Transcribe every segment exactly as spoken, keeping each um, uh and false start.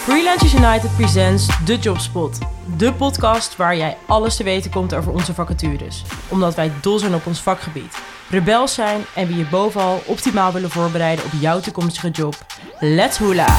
Freelancers United presents The Jobspot. De podcast waar jij alles te weten komt over onze vacatures. Omdat wij dol zijn op ons vakgebied, rebels zijn en we je bovenal optimaal willen voorbereiden op jouw toekomstige job. Let's hula!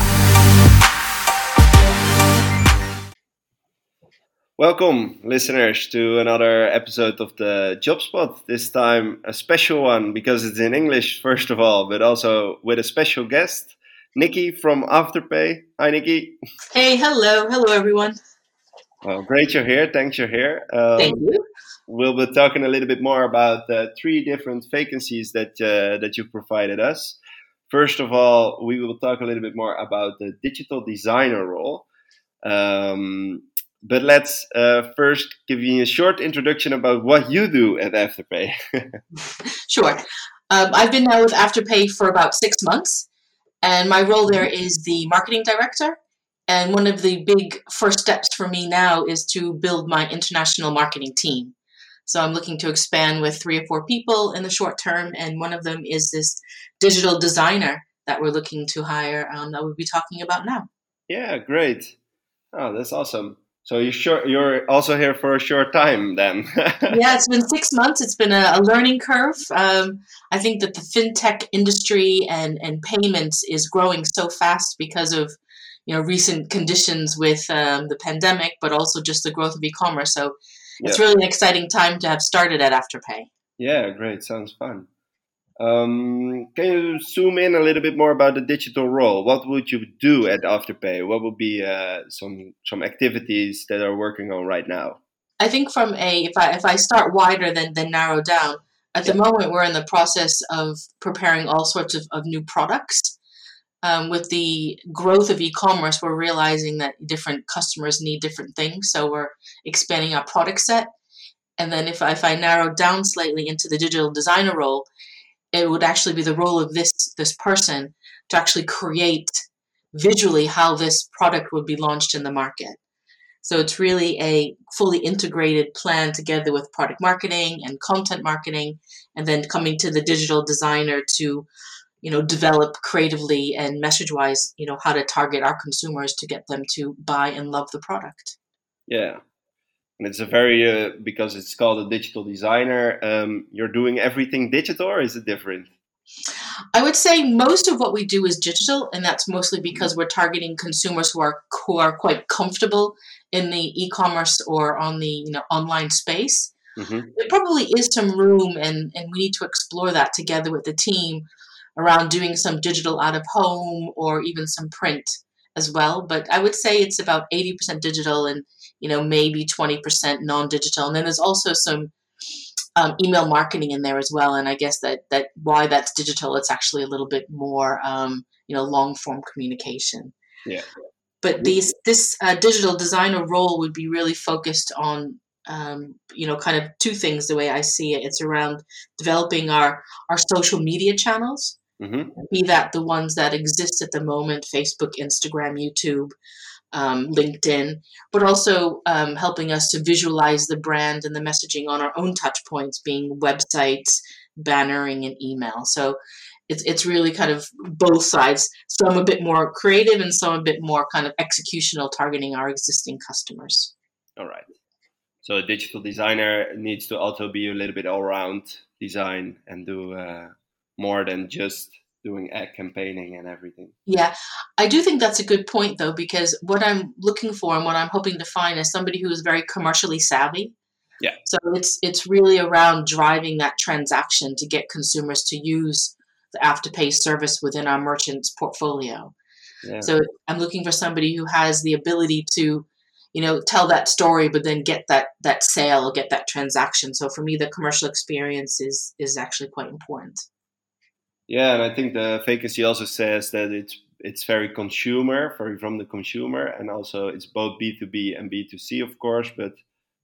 Welcome, listeners, to another episode of the Jobspot. This time a special one because it's in English, first of all, but also with a special guest, Nikki from Afterpay. Hi, Nikki. Hey, hello. Hello, everyone. Well, great you're here. Thanks you're here. Um, Thank you. We'll be talking a little bit more about the three different vacancies that uh, that you provided us. First of all, we will talk a little bit more about the digital designer role. Um, But let's uh, first give you a short introduction about what you do at Afterpay. Sure. Um, I've been now with Afterpay for about six months, and my role there is the marketing director. And one of the big first steps for me now is to build my international marketing team. So I'm looking to expand with three or four people in the short term, and one of them is this digital designer that we're looking to hire um, that we'll be talking about now. Yeah, great. Oh, that's awesome. So you're sure you're also here for a short time then? Yeah, it's been six months. It's been a, a learning curve. Um, I think that the fintech industry and, and payments is growing so fast because of you know recent conditions with um, the pandemic, but also just the growth of e-commerce. So it's Yeah. really an exciting time to have started at Afterpay. Yeah, great. Sounds fun. Um, can you zoom in a little bit more about the digital role? What would you do at Afterpay? What would be uh, some some activities that are working on right now? I think from a if I if I start wider than than narrow down, at the moment we're in the process of preparing all sorts of, of new products. Um, with the growth of e-commerce, we're realizing that different customers need different things, so we're expanding our product set. And then if I, if I narrow down slightly into the digital designer role, it would actually be the role of this this person to actually create visually how this product would be launched in the market. So it's really a fully integrated plan together with product marketing and content marketing, and then coming to the digital designer to, you know, develop creatively and message-wise, you know, how to target our consumers to get them to buy and love the product. Yeah. And it's a very, uh, because it's called a digital designer, um, you're doing everything digital, or is it different? I would say most of what we do is digital, and that's mostly because we're targeting consumers who are who are quite comfortable in the e-commerce or on the you know online space. Mm-hmm. There probably is some room, and, and we need to explore that together with the team around doing some digital out of home or even some print as well. But I would say it's about eighty percent digital and you know maybe twenty percent non-digital. And then there's also some um, email marketing in there as well. And I guess that that why that's digital, it's actually a little bit more um, you know long form communication. Yeah. But these this uh, digital designer role would be really focused on um, you know kind of two things the way I see it. It's around developing our our social media channels. Mm-hmm. Be that the ones that exist at the moment, Facebook, Instagram, YouTube, um, LinkedIn, but also um, helping us to visualize the brand and the messaging on our own touch points, being websites, bannering, and email. So it's it's really kind of both sides, some a bit more creative and some a bit more kind of executional, targeting our existing customers. All right. So a digital designer needs to also be a little bit all-round design and do uh, more than just doing ad campaigning and everything. Yeah, I do think that's a good point, though, because what I'm looking for and what I'm hoping to find is somebody who is very commercially savvy. Yeah. So it's it's really around driving that transaction to get consumers to use the Afterpay service within our merchant's portfolio. Yeah. So I'm looking for somebody who has the ability to, you know, tell that story, but then get that that sale, get that transaction. So for me, the commercial experience is is actually quite important. Yeah, and I think the vacancy also says that it's it's very consumer, very from the consumer, and also it's both B two B and B two C, of course, but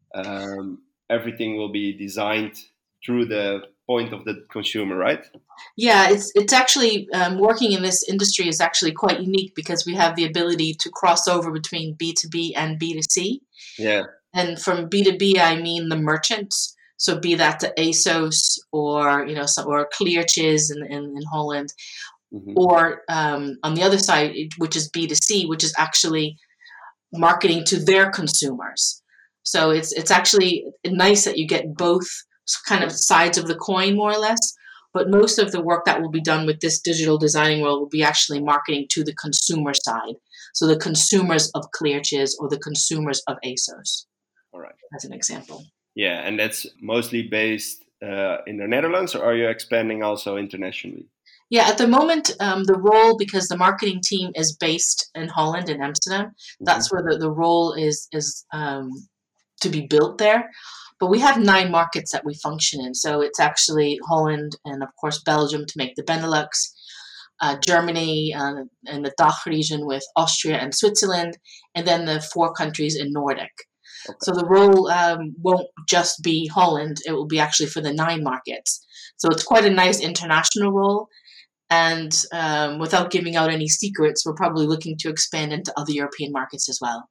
um, everything will be designed through the point of the consumer, right? Yeah, it's it's actually um, working in this industry is actually quite unique because we have the ability to cross over between B two B and B two C. Yeah. And from B two B, I mean the merchants. So be that the ASOS or you know some, or Clearchiz in, in in Holland, Mm-hmm. or um, on the other side, which is B two C, which is actually marketing to their consumers. So it's it's actually nice that you get both kind of sides of the coin, more or less. But most of the work that will be done with this digital designing role will be actually marketing to the consumer side. So the consumers of Kleertjes or the consumers of ASOS. All right. As an example. Yeah, and that's mostly based uh, in the Netherlands, or are you expanding also internationally? Yeah, at the moment, um, the role, because the marketing team is based in Holland, in Amsterdam, mm-hmm. that's where the, the role is is um, to be built there. But we have nine markets that we function in. So it's actually Holland and, of course, Belgium to make the Benelux, uh, Germany uh, and the D A C H region with Austria and Switzerland, and then the four countries in Nordic. Okay. So the role um, won't just be Holland. It will be actually for the nine markets. So it's quite a nice international role. And um, without giving out any secrets, we're probably looking to expand into other European markets as well.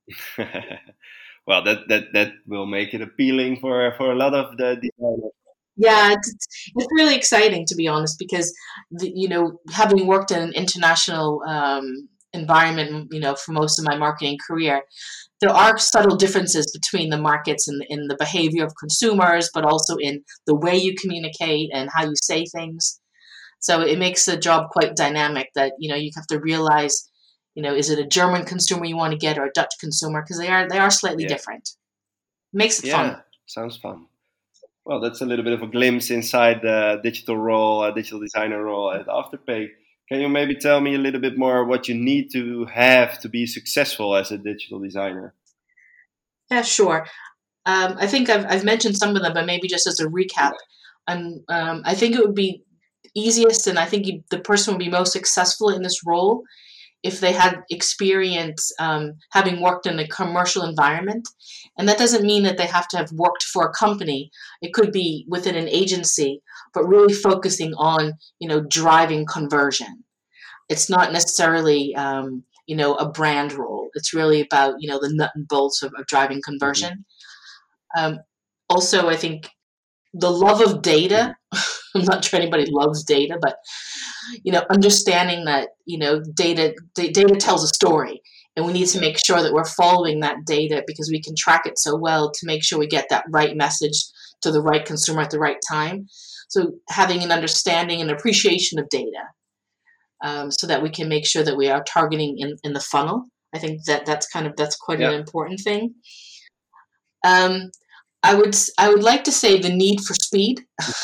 Well, that, that, that will make it appealing for, for a lot of the designers. Yeah, it's, it's really exciting, to be honest, because, the, you know, having worked in an international um, environment, you know, for most of my marketing career, there are subtle differences between the markets and in the behavior of consumers, but also in the way you communicate and how you say things. So it makes the job quite dynamic that, you know, you have to realize, you know, is it a German consumer you want to get or a Dutch consumer? Because they are they are slightly yeah. different. It makes it yeah, fun. Sounds fun. Well, that's a little bit of a glimpse inside the digital role, uh, digital designer role at Afterpay. Can you maybe tell me a little bit more what you need to have to be successful as a digital designer? Yeah, sure. Um, I think I've, I've mentioned some of them, but maybe just as a recap. Um, um, I think it would be easiest, and I think you, the person would be most successful in this role if they had experience um, having worked in a commercial environment. And that doesn't mean that they have to have worked for a company. It could be within an agency, but really focusing on, you know, driving conversion. It's not necessarily, um, you know, a brand role. It's really about, you know, the nut and bolts of, of driving conversion. Mm-hmm. Um, also, I think the love of data, I'm not sure anybody loves data, but, you know, understanding that, you know, data, d- data tells a story, and we need to make sure that we're following that data because we can track it so well to make sure we get that right message to the right consumer at the right time. So having an understanding and appreciation of data um, so that we can make sure that we are targeting in, in the funnel. I think that that's kind of, that's quite yeah. an important thing. Um, I would I would like to say the need for speed.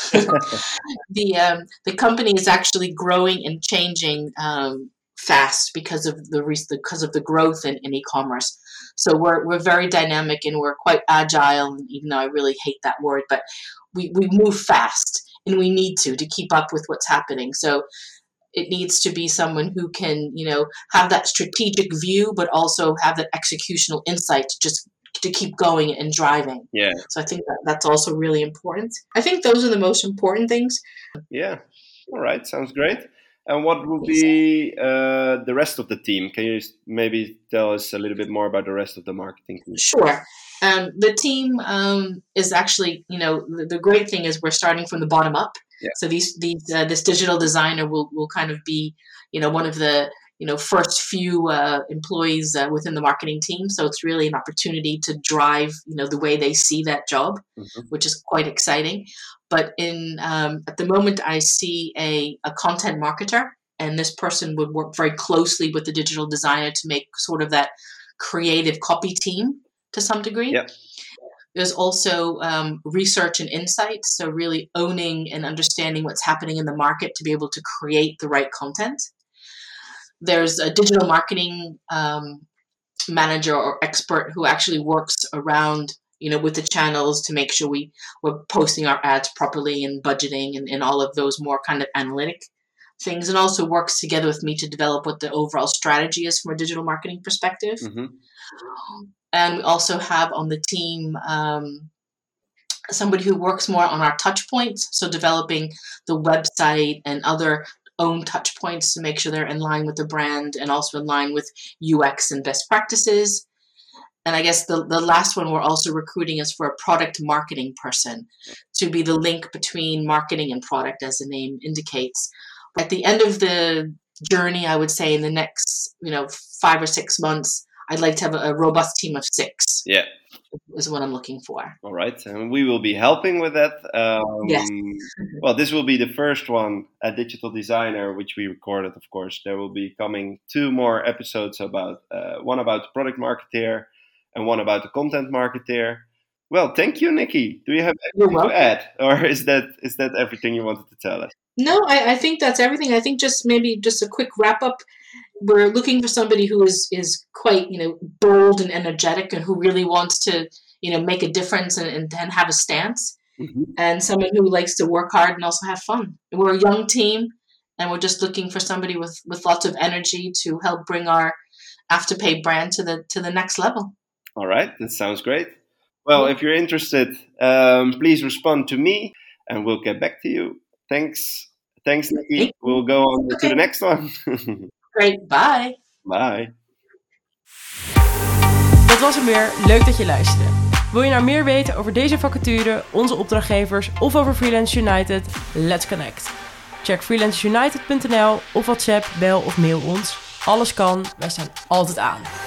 the um, the company is actually growing and changing um, fast because of the because of the growth in, in e-commerce. So we're we're very dynamic and we're quite agile. Even though I really hate that word, but we, we move fast and we need to to keep up with what's happening. So it needs to be someone who can, you know, have that strategic view, but also have that executional insight to just to keep going and driving. Yeah. So I think that that's also really important. I think those are the most important things. Yeah. All right. Sounds great. And what will be uh, the rest of the team? Can you maybe tell us a little bit more about the rest of the marketing team? Sure. Um, the team um, is actually, you know, the, the great thing is we're starting from the bottom up. Yeah. So these these uh, this digital designer will will kind of be, you know, one of the you know, first few uh, employees uh, within the marketing team. So it's really an opportunity to drive, you know, the way they see that job, mm-hmm. which is quite exciting. But in um, at the moment, I see a, a content marketer, and this person would work very closely with the digital designer to make sort of that creative copy team to some degree. Yeah. There's also um, research and insights, so really owning and understanding what's happening in the market to be able to create the right content. There's a digital marketing um, manager or expert who actually works around, you know, with the channels to make sure we, we're posting our ads properly and budgeting and, and all of those more kind of analytic things, and also works together with me to develop what the overall strategy is from a digital marketing perspective. Mm-hmm. And we also have on the team um, somebody who works more on our touch points, so developing the website and other own touch points to make sure they're in line with the brand and also in line with U X and best practices. And I guess the, the last one we're also recruiting is for a product marketing person to be the link between marketing and product, as the name indicates. At the end of the journey, I would say in the next, you know, five or six months, I'd like to have a, a robust team of six. Yeah. Is what I'm looking for. All right. And we will be helping with that. Um, yes. Well, this will be the first one at Digital Designer, which we recorded, of course. There will be coming two more episodes about, uh, one about the product marketeer and one about the content marketeer. Well, thank you, Nikki. Do you have anything to add? Or is that is that everything you wanted to tell us? No, I, I think that's everything. I think just maybe just a quick wrap up. We're looking for somebody who is, is quite, you know, bold and energetic and who really wants to, you know, make a difference and, and, and have a stance. Mm-hmm. And someone who likes to work hard and also have fun. We're a young team and we're just looking for somebody with, with lots of energy to help bring our Afterpay brand to the to the next level. All right. That sounds great. Well, if you're interested, um, please respond to me and we'll get back to you. Thanks. Thanks, Nikki. We'll go on okay. to the next one. Great, bye. Bye. Dat was hem weer. Leuk dat je luisterde. Wil je nou meer weten over deze vacature, onze opdrachtgevers of over Freelance United? Let's connect. Check freelance united punt n l of WhatsApp, bel of mail ons. Alles kan, wij staan altijd aan.